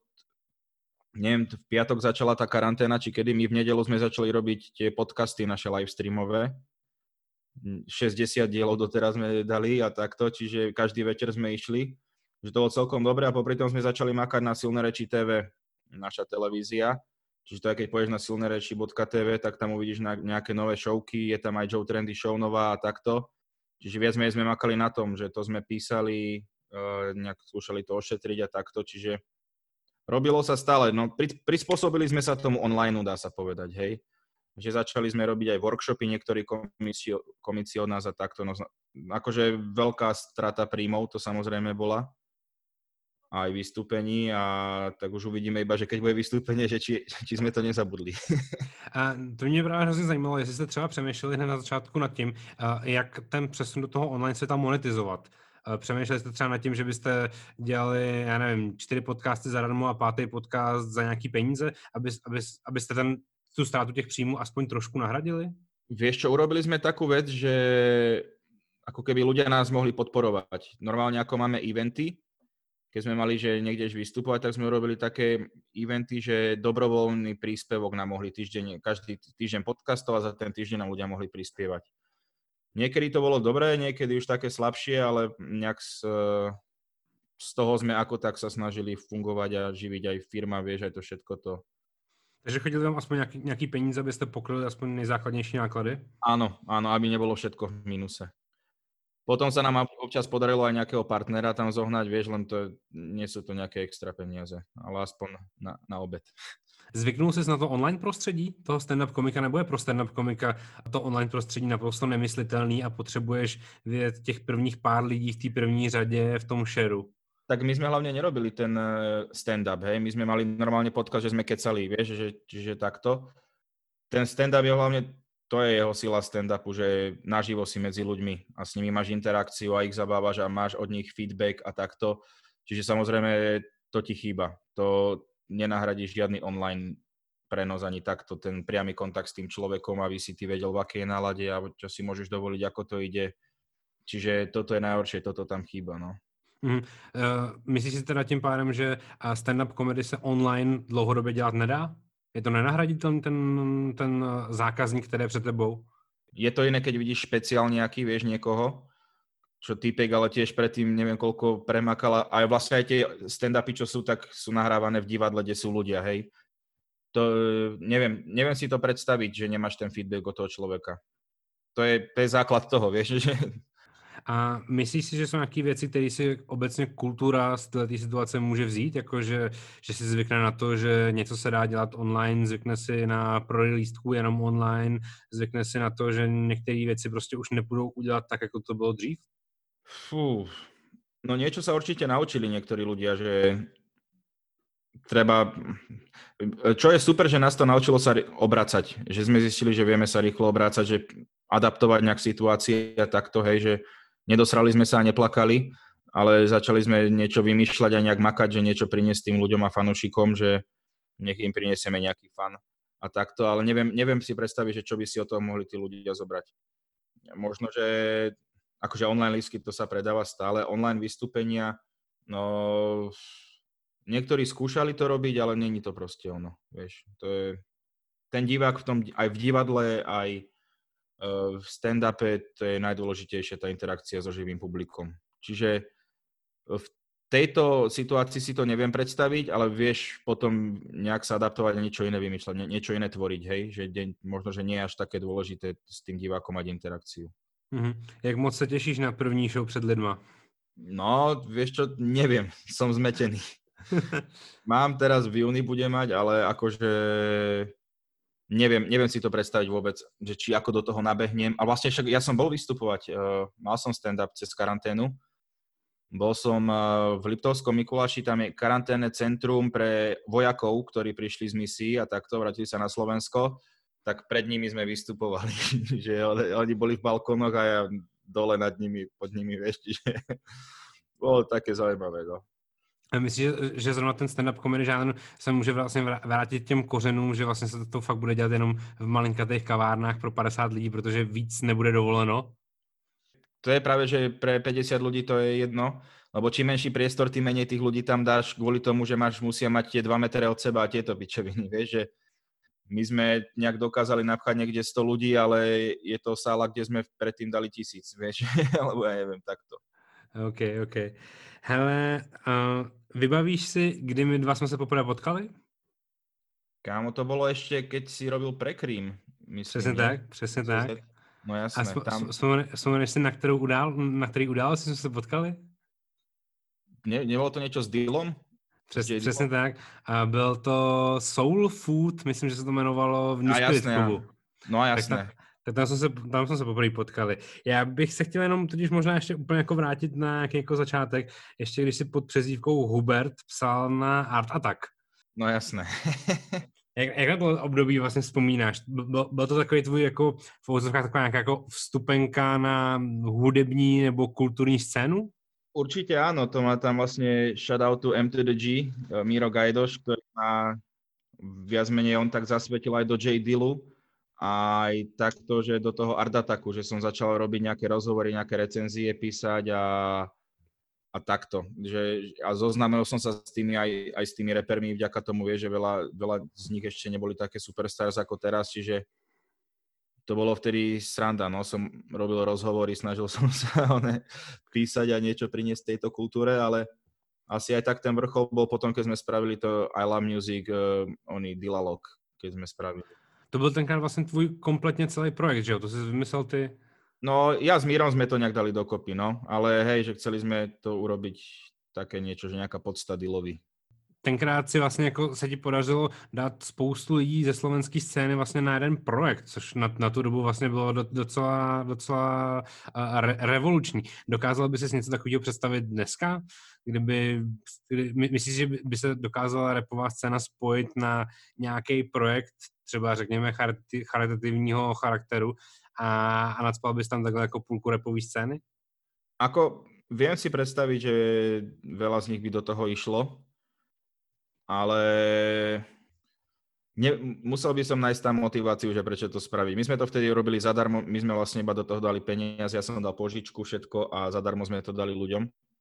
neviem, v piatok začala tá karanténa, či kedy my v nedelu sme začali robiť tie podcasty naše livestreamové. 60 dielov doteraz sme dali a takto, čiže každý večer sme išli. Že to bolo celkom dobré a popri tom sme začali makať na Silné reči TV, naša televízia. Čiže to aj keď pôjdeš na silnereči.tv, tak tam uvidíš nejaké nové showky, je tam aj Joe Trendy show nová a takto. Čiže viac menej sme makali na tom, že to sme písali, nejak skúšali to ošetriť a takto, čiže robilo sa stále. No, prispôsobili sme sa tomu online, dá sa povedať, hej. Že začali sme robiť aj workshopy, niektorí komici od nás a takto. No, akože veľká strata príjmov to samozrejme bola. Aj vystúpení a tak už uvidíme iba, že keď bude vystúpenie, že či sme to nezabudli. A to mě právě hrozně zajímalo, jestli jste třeba přemýšleli hned na začátku nad tím, jak ten přesun do toho online světa monetizovat. Přemýšleli jste třeba nad tím, že byste dělali, já nevím, 4 podcasty zadarmo a 5. podcast za nějaký peníze, abyste tu ztrátu těch příjmů aspoň trošku nahradili? Vieš čo, urobili sme takú vec, že ako keby ľudia nás mohli podporovať. Normálne ako máme eventy, keď sme mali, že niekde vystupovať, tak sme urobili také eventy, že dobrovoľný príspevok nám mohli každý týždeň podcastov a za ten týždeň nám ľudia mohli prispievať. Niekedy to bolo dobré, niekedy už také slabšie, ale nejak z toho sme ako tak sa snažili fungovať a živiť aj firma, vieš, aj to všetko to. Takže chodili tam aspoň nějaký peníze, abyste pokryli aspoň nejzákladnější náklady? Áno, aby nebolo všetko v mínuse. Potom sa nám občas podarilo aj nejakého partnera tam zohnať, vieš, len to nie sú to nejaké extra peniaze, ale aspoň na obed. Zvyknul jsi na to online prostředí toho stand-up komika, nebo je pro stand-up komika to online prostředí naprosto nemyslitelný a potřebuješ vidět těch prvních pár lidí v té první řadě v tom shareu? Tak my sme hlavne nerobili ten stand-up, hej, my sme mali normálne podcast, že sme kecali, vieš, že takto. Ten stand-up je hlavne, to je jeho sila stand-upu, že naživo si medzi ľuďmi a s nimi máš interakciu a ich zabávaš a máš od nich feedback a takto. Čiže samozrejme to ti chýba. To nenahradí žiadny online prenos ani takto, ten priamy kontakt s tým človekom, aby si ty vedel, v akej nálade a čo si môžeš dovoliť, ako to ide. Čiže toto je najhoršie, toto tam chýba, no. Myslíš si teda tím pádem, že stand-up komedy se online dlouhodobě dělat nedá? Je to nenahraditelný ten zákazník, který je před tebou? Je to iné, keď vidíš špeciál nejaký, vieš, niekoho, čo týpek, ale tiež predtým neviem koľko premakala. A vlastne aj tie stand-upy, čo sú, tak sú nahrávané v divadle, kde sú ľudia, hej. To neviem si to predstaviť, že nemáš ten feedback od toho človeka. To je základ toho, vieš, že... A myslíš si, že jsou nějaké věci, které si obecně kultura z této situace může vzít? Jako, že si zvykne na to, že něco se dá dělat online, zvykne si na prodej lístků jenom online, zvykne si na to, že některé věci prostě už nepůjdou udělat tak, jako to bylo dřív? Fú, no niečo sa určite naučili niektorí ľudia, že treba... Čo je super, že nás to naučilo sa obracať, že sme zistili, že vieme sa rýchlo obrácať, že adaptovať nejak situácie a takto, hej, že nedosrali sme sa a neplakali, ale začali sme niečo vymýšľať a nejak makať, že niečo priniesť tým ľuďom a fanúšikom, že nech im prinesieme nejaký fan a takto, ale neviem si predstaviť, že čo by si o tom mohli tí ľudia zobrať. Možno, že akože online lístky to sa predáva stále, online vystúpenia, no niektorí skúšali to robiť, ale není to proste ono, vieš. To je ten divák v tom, aj v divadle, aj v stand-upe, to je najdôležitejšia tá interakcia so živým publikom. Čiže v tejto situácii si to neviem predstaviť, ale vieš potom nejak sa adaptovať a niečo iné vymýšľať, niečo iné tvoriť, hej? Že možno, že nie je až také dôležité s tým divákom mať interakciu. Jak moc sa tešíš na první show před lidma? No, vieš čo, neviem, som zmetený. Mám teraz v júni budem mať, ale akože neviem si to predstaviť vôbec, že či ako do toho nabehnem. A vlastne však ja som bol vystupovať, mal som stand-up cez karanténu. Bol som v Liptovskom Mikuláši, tam je karanténne centrum pre vojakov, ktorí prišli z misií a takto vrátili sa na Slovensko. Tak pred nimi sme vystupovali, že oni boli v balkónoch a ja dole nad nimi, pod nimi, vieš, čiže bolo také zaujímavé, no. A myslíš, že zrovna ten stand-up comedy žánr se může vlastně vrátit těm kořenům, že vlastně se to fakt bude dělat jenom v malinkatých kavárnách pro 50 lidí, protože víc nebude dovoleno? To je práve, že pre 50 ľudí to je jedno, lebo čím menší priestor, tým menej tých ľudí tam dáš kvôli tomu, že musia mať tie 2 metre od seba a tieto pičeviny, vieš, že my sme nejak dokázali napchať niekde 100 ľudí, ale je to sála, kde sme predtým dali 1000, vieš, alebo ja neviem, takto. OK. Hele, vybavíš si, kdy my dva jsme se poprvé potkali? Kámo, to bolo ešte, keď si robil Prekrým, myslím. Přesně tak. No jasné. Vzpomeneš si, na který události jsme se potkali? Nebolo to niečo s Dillom? Přesně tak. A byl to Soul Food, myslím, že se to jmenovalo v New Spirit klubu. No jasné. Tak tam jsme se poprvé potkali. Já bych se chtěl jenom totiž možná ještě úplně jako vrátit na nějaký jako začátek, ještě když si pod přezdívkou Hubert psal na Art Attack. No jasné. Jak na to období vlastně vzpomínáš? Byl to takový tvůj jako v uvozovkách taková nějaká jako vstupenka na hudební nebo kulturní scénu? Určite áno, to má tam vlastne shoutout to M2G, Miro Gajdoš, ktorý má viac menej on tak zasvetil aj do J. Dillu, aj takto, že do toho Art Attacku, že som začal robiť nejaké rozhovory, nejaké recenzie písať a takto. A zoznámil som sa s tými aj s tými repermi vďaka tomu, že veľa z nich ešte neboli také superstars ako teraz, čiže to bolo vtedy sranda, no, som robil rozhovory, snažil som sa písať a niečo priniesť tejto kultúre, ale asi aj tak ten vrchol bol potom, keď sme spravili to I Love Music, oný Dilalog, keď sme spravili. To byl tenkrát vlastně tvůj kompletně celý projekt, že jo? To jsi vymyslel ty? No, ja s Mírom sme to nejak dali dokopy, no. Ale hej, že chceli sme to urobiť také niečo, že nejaká podsta dealový. Tenkrát si vlastně jako se ti podařilo dát spoustu lidí ze slovenské scény vlastně na jeden projekt, což na tu dobu vlastně bylo docela revoluční. Dokázal by si něco takového představit dneska? Myslíš, že by se dokázala rapová scéna spojit na nějaký projekt, třeba řekněme charitativního charakteru a nadspal bys tam takhle jako půlku rapové scény? Ako, viem si predstaviť, že veľa z nich by do toho išlo, ale musel by som nájsť tam motiváciu, že prečo to spraviť. My sme to vtedy robili zadarmo, my sme vlastne iba do toho dali peniaze, ja som dal požičku, všetko a zadarmo sme to dali ľuďom.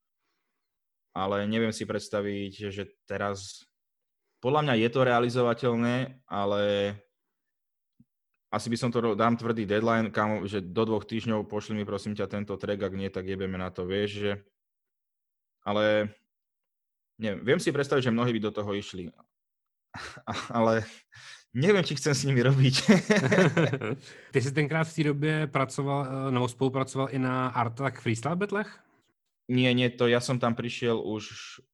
Ale neviem si predstaviť, že teraz... Podľa mňa je to realizovateľné, ale asi by som to dám tvrdý deadline, že do 2 týždňov pošli mi prosím ťa tento track, ak nie, tak jebeme na to, vieš, že... Ale neviem, viem si predstaviť, že mnohí by do toho išli. Ale neviem, či chcem s nimi robiť. Ty jsi tenkrát v té době pracoval, nebo spolupracoval i na Art Attack Freestyle Battlech? Nie, to ja som tam prišiel už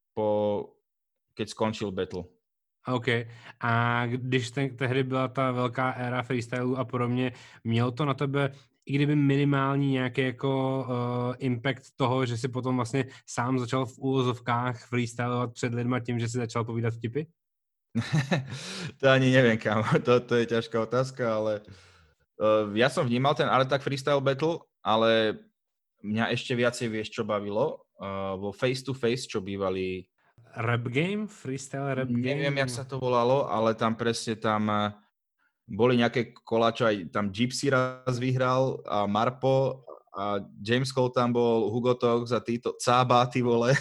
keď skončil battle. OK. A když tehdy byla ta velká éra freestylu a podobně, mělo to na tebe, i kdyby minimální nějaký jako impact toho, že si potom vlastně sám začal v úvozovkách freestylovat před lidma tím, že si začal povídat vtipy? To ani neviem, kam. To je ťažká otázka, ale ja som vnímal ten ale tak freestyle battle, ale mňa ešte viacej vieš, čo bavilo. Vo face to face, čo bývali... Rap game? Freestyle rap game? Neviem, jak sa to volalo, ale tam presne boli nejaké koláčo, aj tam Gypsy raz vyhral a Marpo a James Cole tam bol, Hugo Tox a títo, Cába, ty vole.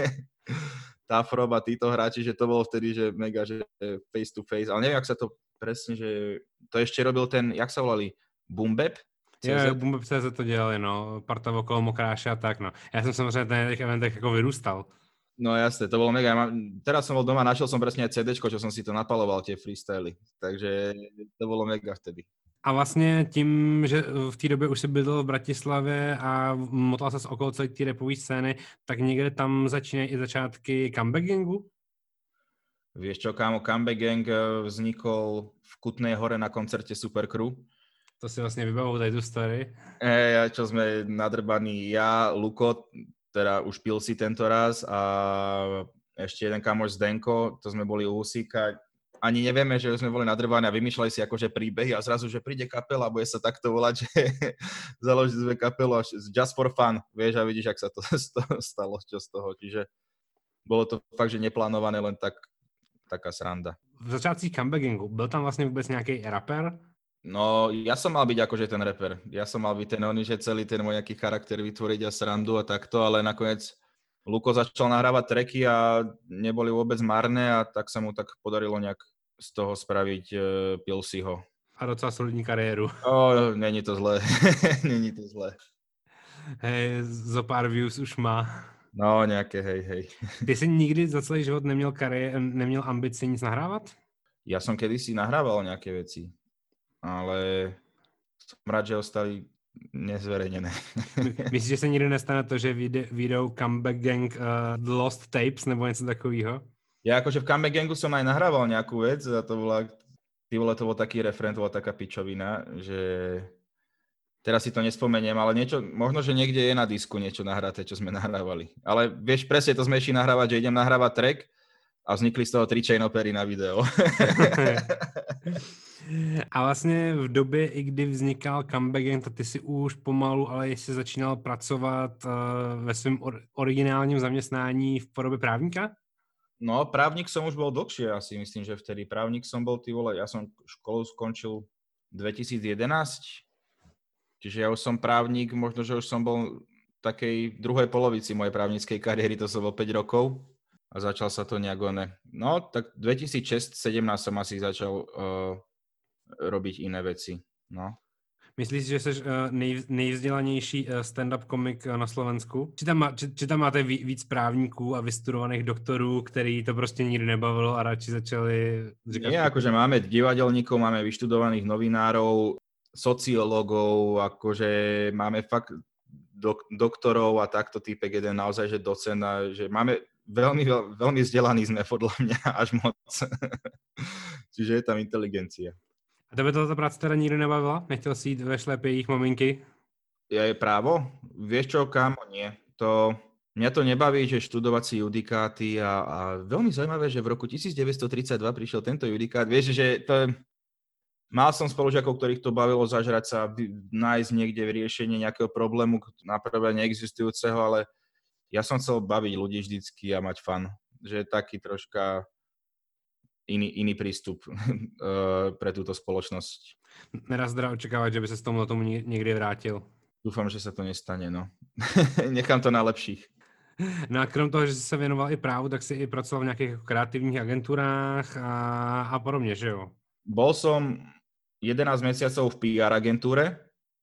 Tafrob a títo hráči, že to bolo vtedy, že mega, že face to face, ale neviem, jak sa to presne, že to ešte robil ten, jak sa volali, Boombap? Jo, Boombap CZ to dělali, no, parta okolo Mokráše a tak, no. Já jsem samozřejmě na těch eventech jako vyrůstal. No jasne, to bolo mega. Teraz som bol doma, našiel som presne aj CDčko, čo som si to napaloval, tie freestyly, takže to bolo mega vtedy. A vlastně tím, že v té době už jsi bydlel v Bratislavě a motal ses okolo celé té rapové scény, tak někde tam začínají i začátky Comeback Gangu? Vieš čo, kámo, Comeback Gang vznikol v Kutnej Hore na koncerte Supercrew. To si vlastně vybavuju tady tu story. Čo sme nadrbaní, ja, Luko, teda už pil si tento raz a ešte jeden kamoš Zdenko, to sme boli u Husíka. Ani nevieme, že sme boli nadrbaní a vymýšľali si akože príbehy a zrazu, že príde kapela a bude sa takto volať, že založiť sme kapelu just for fun, vieš, a vidíš, ak sa to stalo, čo z toho. Čiže bolo to fakt, že neplánované, len taká sranda. V začátcích Comeback Gangu byl tam vlastně vůbec nějaký rapper? No, ja som mal byť akože ten rapper. Ja som mal byť ten oný, že celý ten môj nejaký charakter vytvoriť a srandu a takto, ale nakoniec Luko začal nahrávať tracky a neboli vôbec marné a tak sa mu tak podarilo nejak z toho spraviť Pilsiho. A docela solidní kariéru. Není to zlé. Není to zlé. Hej, zo pár views už má. No, nejaké, hej. Ty jsi nikdy za celý život neměl ambici nic nahrávat? Ja som kedysi nahrával nejaké veci, ale som rád, že ostali nezverejnené. Myslíš, že se nikdy nestane to, že vyjdou Comeback Gang The Lost Tapes nebo něco takového? Ja akože v Comeback Gangu som aj nahrával nejakú vec a to bol taký referent, bola taká pičovina, že teraz si to nespomeniem, ale niečo, možno, že niekde je na disku niečo nahraté, čo sme nahrávali. Ale vieš, presne to sme išli nahrávať, že idem nahrávať track a vznikli z toho 3 chain opery na video. A vlastně v době, i kdy vznikal Comeback Gang, tak ty si už pomalu, ale ještě začínal pracovat ve svém originálním zaměstnání v podobě právníka? No, právnik som už bol dlhšie, asi myslím, že vtedy. Právnik som bol, ty vole, ja som školu skončil 2011, čiže ja už som právnik, možno, že už som bol v takej druhej polovici mojej právnickej kariéry, to som bol 5 rokov a začal sa to nejak No, tak 2016-17 som asi začal robiť iné veci, no. Myslíš, že jsi nejvzdělanější stand-up komik na Slovensku? Či tam máte víc právníků a vystudovaných doktorů, který to prostě nikdy nebavilo a radši začali říkat... Nie, akože máme divadelníkov, máme vyštudovaných novinárov, sociológov, akože máme fakt doktorov a takto týpek jeden naozaj, že docent, že máme veľmi vzdelaní sme podľa mňa až moc. Čiže je tam inteligencia. A tebe ta práce teda nikdy nebavila? Nechtěl jsi jít ve šlepě jejich maminky? Je právo? Vieš čo, kámo, nie. Mňa to nebaví, že študovať si judikáty a veľmi zaujímavé, že v roku 1932 prišiel tento judikát. Vieš, že mal som spolužiakov, ktorých to bavilo zažrať sa, nájsť niekde riešenie nejakého problému, naprvé neexistujúceho, ale ja som chcel baviť ľudí vždycky a mať fun. Že je taký troška iný prístup pre túto spoločnosť. Nedá se teda očekávat, že by se s tomu někdy vrátil. Dúfam, že sa to nestane, no. Nechám to na lepších. No a krom toho, že jsi se věnoval i právu, tak jsi i pracoval v nějakých kreativních agenturách a podobně, že jo? Bol som 11 mesiacov v PR agentúre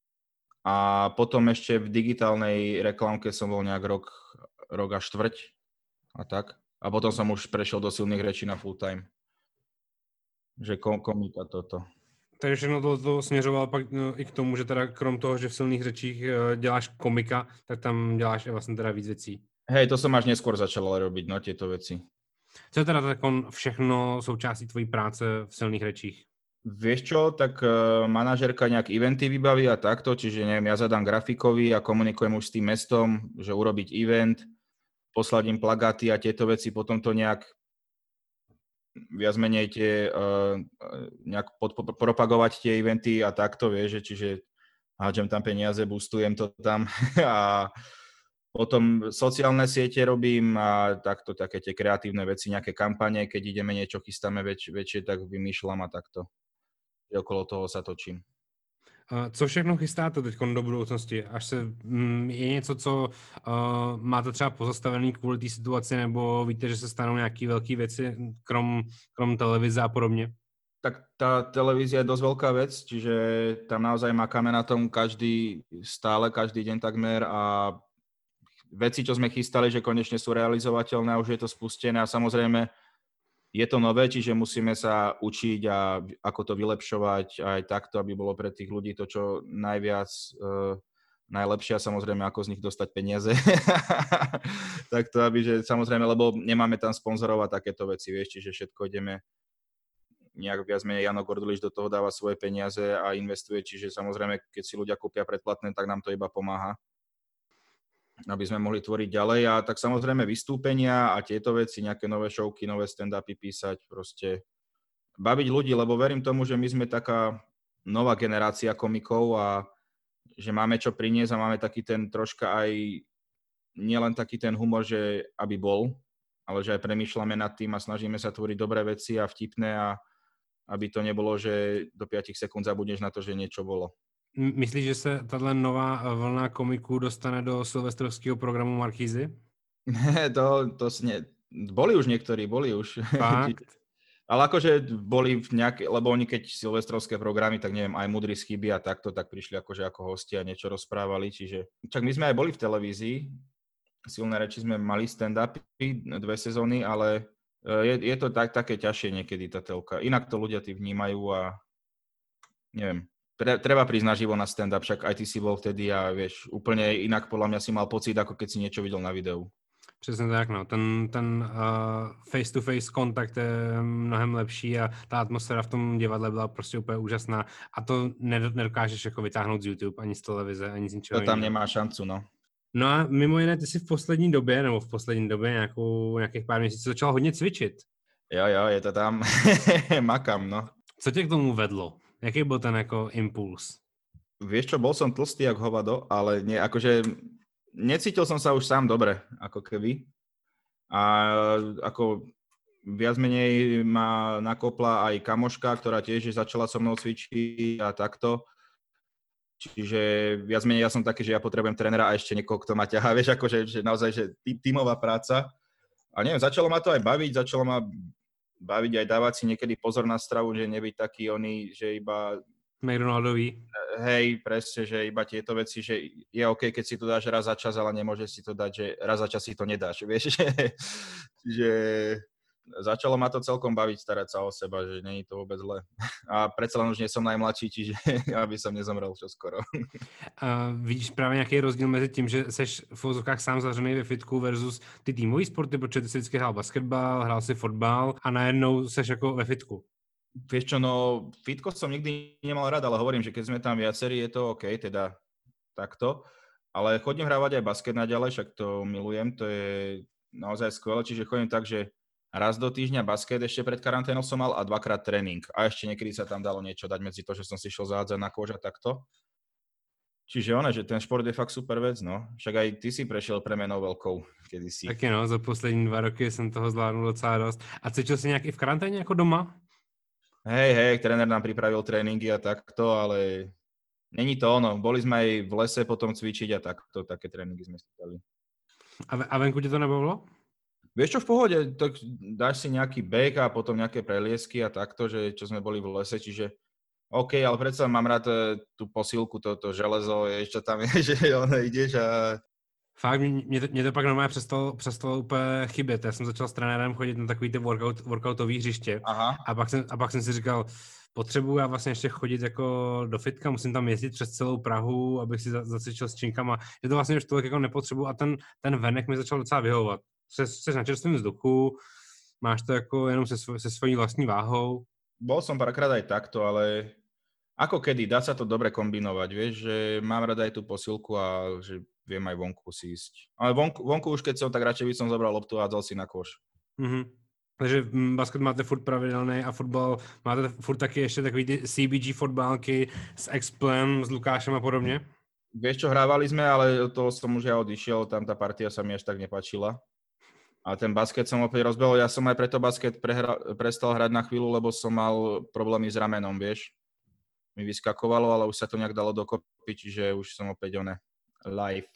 a potom ešte v digitálnej reklamke som bol nejak rok a štvrť a tak. A potom som už prešiel do silných rečí na full time. Že komika toto. Takže všechno to směřovalo pak i k tomu, že teda krom toho, že v silných řečích děláš komika, tak tam děláš i vlastně teda víc věcí. Hej, to som až neskôr začal robiť, no, tieto veci. Co je teda všechno součástí tvojí práce v silných řečích? Vieš čo, tak manažerka nejak eventy vybaví a takto, čiže neviem, ja zadám grafikovi a komunikujem už s tým mestom, že urobiť event, posladím plagáty a tieto veci, potom to nejak viac menej nejak propagovať tie eventy a takto, vieš, čiže hádžem tam peniaze, boostujem to tam a potom sociálne siete robím a takto také tie kreatívne veci, nejaké kampane, keď ideme niečo chystáme väčšie, tak vymýšľam a takto. Okolo toho sa točím. Co všechno chystáte teď do budoucnosti? Je něco, co máte třeba pozastavený kvůli té situaci, nebo víte, že se stanou nějaké velké věci, krom televize a podobně? Tak tá televízia je dosť veľká vec, čiže tam naozaj makáme na tom každý deň takmer a veci, čo sme chystali, že konečne sú realizovateľné a už je to spustené a samozrejme je to nové, čiže musíme sa učiť a ako to vylepšovať aj takto, aby bolo pre tých ľudí to, čo najlepšie a samozrejme, ako z nich dostať peniaze. Takto, aby, že samozrejme, lebo nemáme tam sponzorov a takéto veci, vieš, čiže všetko ideme nejak viac menej Jano Gordulič do toho dáva svoje peniaze a investuje, čiže samozrejme, keď si ľudia kúpia predplatné, tak nám to iba pomáha, aby sme mohli tvoriť ďalej a tak samozrejme vystúpenia a tieto veci, nejaké nové showky, nové stand-upy písať, proste baviť ľudí, lebo verím tomu, že my sme taká nová generácia komikov a že máme čo priniesť a máme taký ten troška aj, nielen taký ten humor, že aby bol, ale že aj premýšľame nad tým a snažíme sa tvoriť dobré veci a vtipné a aby to nebolo, že do 5 sekúnd zabudneš na to, že niečo bolo. Myslíš, že se tato nová vlna komiků dostane do silvestrovského programu Markízy? Boli už niektorí, Fakt? Ale akože boli lebo oni keď silvestrovské programy, tak neviem, aj Mudrý z chyby a takto, tak prišli akože ako hostia a niečo rozprávali, čiže... Čak my sme aj boli v televízii, Silné reči sme mali stand-upy 2 sezóny, ale je to také ťažšie niekedy tá telka. Inak to ľudia vnímajú a neviem. Treba prísť naživo na stand-up, však aj ty si bol vtedy a vieš, úplne inak podľa mňa si mal pocit, ako keď si niečo videl na videu. Přesně tak, no. Ten face-to-face kontakt je mnohem lepší a ta atmosféra v tom divadle byla prostě úplně úžasná a to nedokážeš jako vytáhnout z YouTube, ani z televize, ani z ničeho. To tam nemá šancu, no. No a mimo jiné, ty si v poslední době nějakých pár měsíců začal hodně cvičit. Jo, je to tam. Makám, no. Co tě k tomu vedlo? Jaký byl ten jako impuls? Vieš čo, bol som tlstý jak hovado, ale nie, akože necítil som sa už sám dobre, ako keby. A ako viac menej ma nakopla aj kamoška, ktorá tiež začala so mnou cvičiť a takto. Čiže viac menej ja som taký, že ja potrebujem trénera a ešte niekoho, kto ma ťahá, vieš, akože že naozaj, že tímová práca. A neviem, začalo ma to aj baviť aj dávať si niekedy pozor na stravu, že nebyť taký že iba McDonaldový. Hej, presne, že iba tieto veci, že je OK, keď si to dáš raz za čas, ale nemôžeš si to dať, že raz za čas si to nedáš, vieš, že začalo ma to celkom baviť starať sa o seba, že nie je to vôbec zle. A predsa len už nie som najmladší, čiže aby som nezomrel čoskoro. Vidíš právě nějaký rozdíl mezi tím, že seš v uvozovkách sám zavřený ve fitku versus ty týmový sporty, protože ty si vždycky hrál basketbal, hrál si fotbal a najednou seš jako ve fitku? Vieš čo, no fitko som nikdy nemal rád, ale hovorím, že keď sme tam viacerí, je to OK, teda takto. Ale chodím hrávať aj basket naďalej, však to milujem, to je naozaj skvelé, čiže chodím tak, že raz do týždňa basket, ešte pred karanténou som mal a 2-krát tréning. A ešte niekedy sa tam dalo niečo dať medzi to, že som si šiel zádzať na kôž a takto. Čiže ono, že ten šport je fakt super vec, no. Však aj ty si prešiel premenou veľkou kedysi. Taky no, za poslední 2 roky jsem toho zvládnul docela dost. A cítil jsi nějak i v karanténě jako doma? Hej, tréner nám pripravil tréningy a takto, ale není to ono. Boli sme aj v lese potom cvičiť a takto, také tréningy sme si dali. A venku ti to nebavilo? Vieš čo, v pohode, tak dáš si nejaký beh a potom nejaké preliesky a takto, že čo sme boli v lese, čiže OK, ale predsa mám rád tú posílku, to železo, čo tam je, že ideš a... Fakt, mě to pak normálně přestalo úplně chybět. Já jsem začal s trenérem chodit na takový ty workoutový hřiště. Aha. A pak jsem si říkal, potřebuji já vlastně ještě chodit jako do fitka, musím tam jezdit přes celou Prahu, abych si zacvičil s činkama. Že to vlastně už tolik jako nepotřebuji a ten venek mi začal docela vyhovovat. Jsi na čerstvém vzduchu, máš to jako jenom se svojí vlastní váhou. Bol som párkrát aj takto, ale ako kedy, dá sa to dobre kombinovať, vieš, že mám rada aj tú posilku a že viem aj vonku si ísť. Ale vonku už keď som, tak radšej by som zobral loptu a hádzal si na koš. Mm-hmm. Takže basket máte furt pravidelný a fotbal máte furt taky ještě takový ty CBG fotbálky s Explem, s Lukášem a podobně? Vieš čo, hrávali sme, ale od toho som už ja odišiel, tam tá partia sa mi až tak nepáčila. A ten basket som opäť rozbehol, ja som aj preto basket prestal hrať na chvíľu, lebo som mal problémy s ramenom, vieš. Mi vyskakovalo, ale už sa to nejak dalo dokopy, čiže už som opäť live.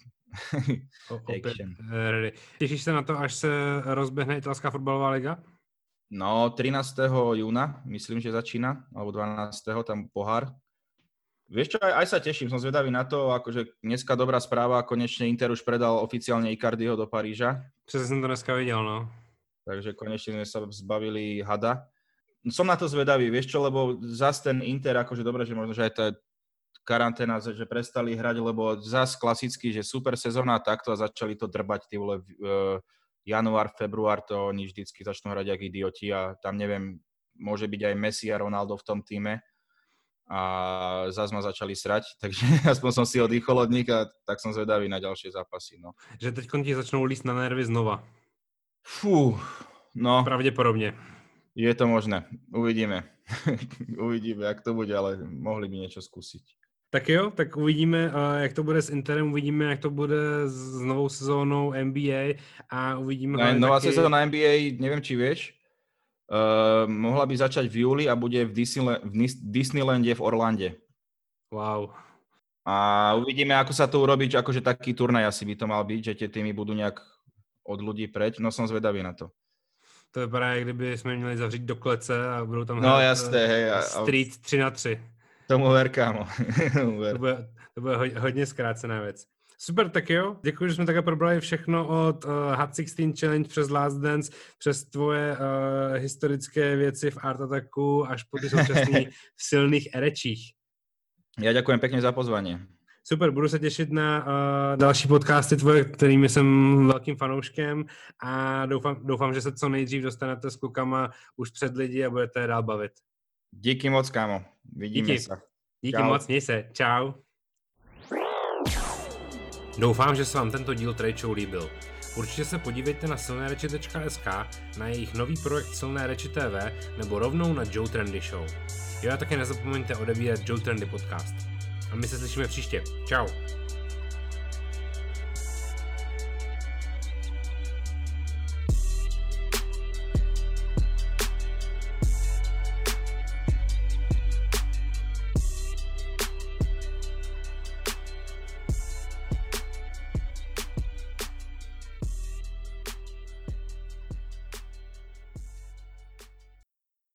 Action. Těšíš se na to, až se rozběhne italská fotbalová liga? No, 13. júna, myslím, že začína, alebo 12. tam pohár. Vieš čo, aj sa teším, som zvedavý na to, akože dneska dobrá správa, konečne Inter už predal oficiálne Icardiho do Paríža. Přesně jsem to dneska viděl, no. Takže konečne sme sa zbavili hada. Som na to zvedavý, vieš čo, lebo zas ten Inter, akože dobre, že možno, že aj tá karanténa, že prestali hrať, lebo zas klasicky, že super sezóna takto a začali to drbať, ty vole, január, február, to oni vždycky začnú hrať jak idioti a tam neviem, môže byť aj Messi a Ronaldo v tom týme. A zase ma začali srať, takže aspoň som si oddychol od nich a tak som zvedavý na ďalšie zápasy. No. Že teď ti začnou líst na nervy znova. Fú, no. Pravděpodobně. Je to možné, uvidíme. Uvidíme, jak to bude, ale mohli by niečo skúsiť. Tak jo, tak uvidíme, jak to bude s Interem, uvidíme, jak to bude s novou sezónou NBA a uvidíme... Nová sezóna NBA, neviem, či vieš, mohla by začať v júli a bude v Disneylande v Orlande. Wow. A uvidíme, ako sa to urobí, akože taký turnaj asi by to mal byť, že tie týmy budú nejak od ľudí preč. No som zvedavý na to. To vypadá, jak kdyby jsme měli zavřít do klece a budou tam hrát jasné, hej, Street 3-3. Tomu ver, kámo. To bude hodně zkrácená věc. Super, tak jo. Děkuji, že jsme takhle probrali všechno od Hot 16 Challenge přes Last Dance, přes tvoje historické věci v Art Attacku až po ty současný v silných erečích. Já ďakujem pěkně za pozvání. Super, budu se těšit na další podcasty tvoje, kterými jsem velkým fanouškem a doufám, že se co nejdřív dostanete s klukama už před lidi a budete dál bavit. Díky moc, kámo. Vidíme se. Díky moc, měj se. Čau. Doufám, že se vám tento díl Trade Show líbil. Určitě se podívejte na silnereči.sk, na jejich nový projekt Silné reči TV nebo rovnou na Joe Trendy Show. Jo a také nezapomeňte odebírat Joe Trendy podcast. A my se slyšíme příště. Čau.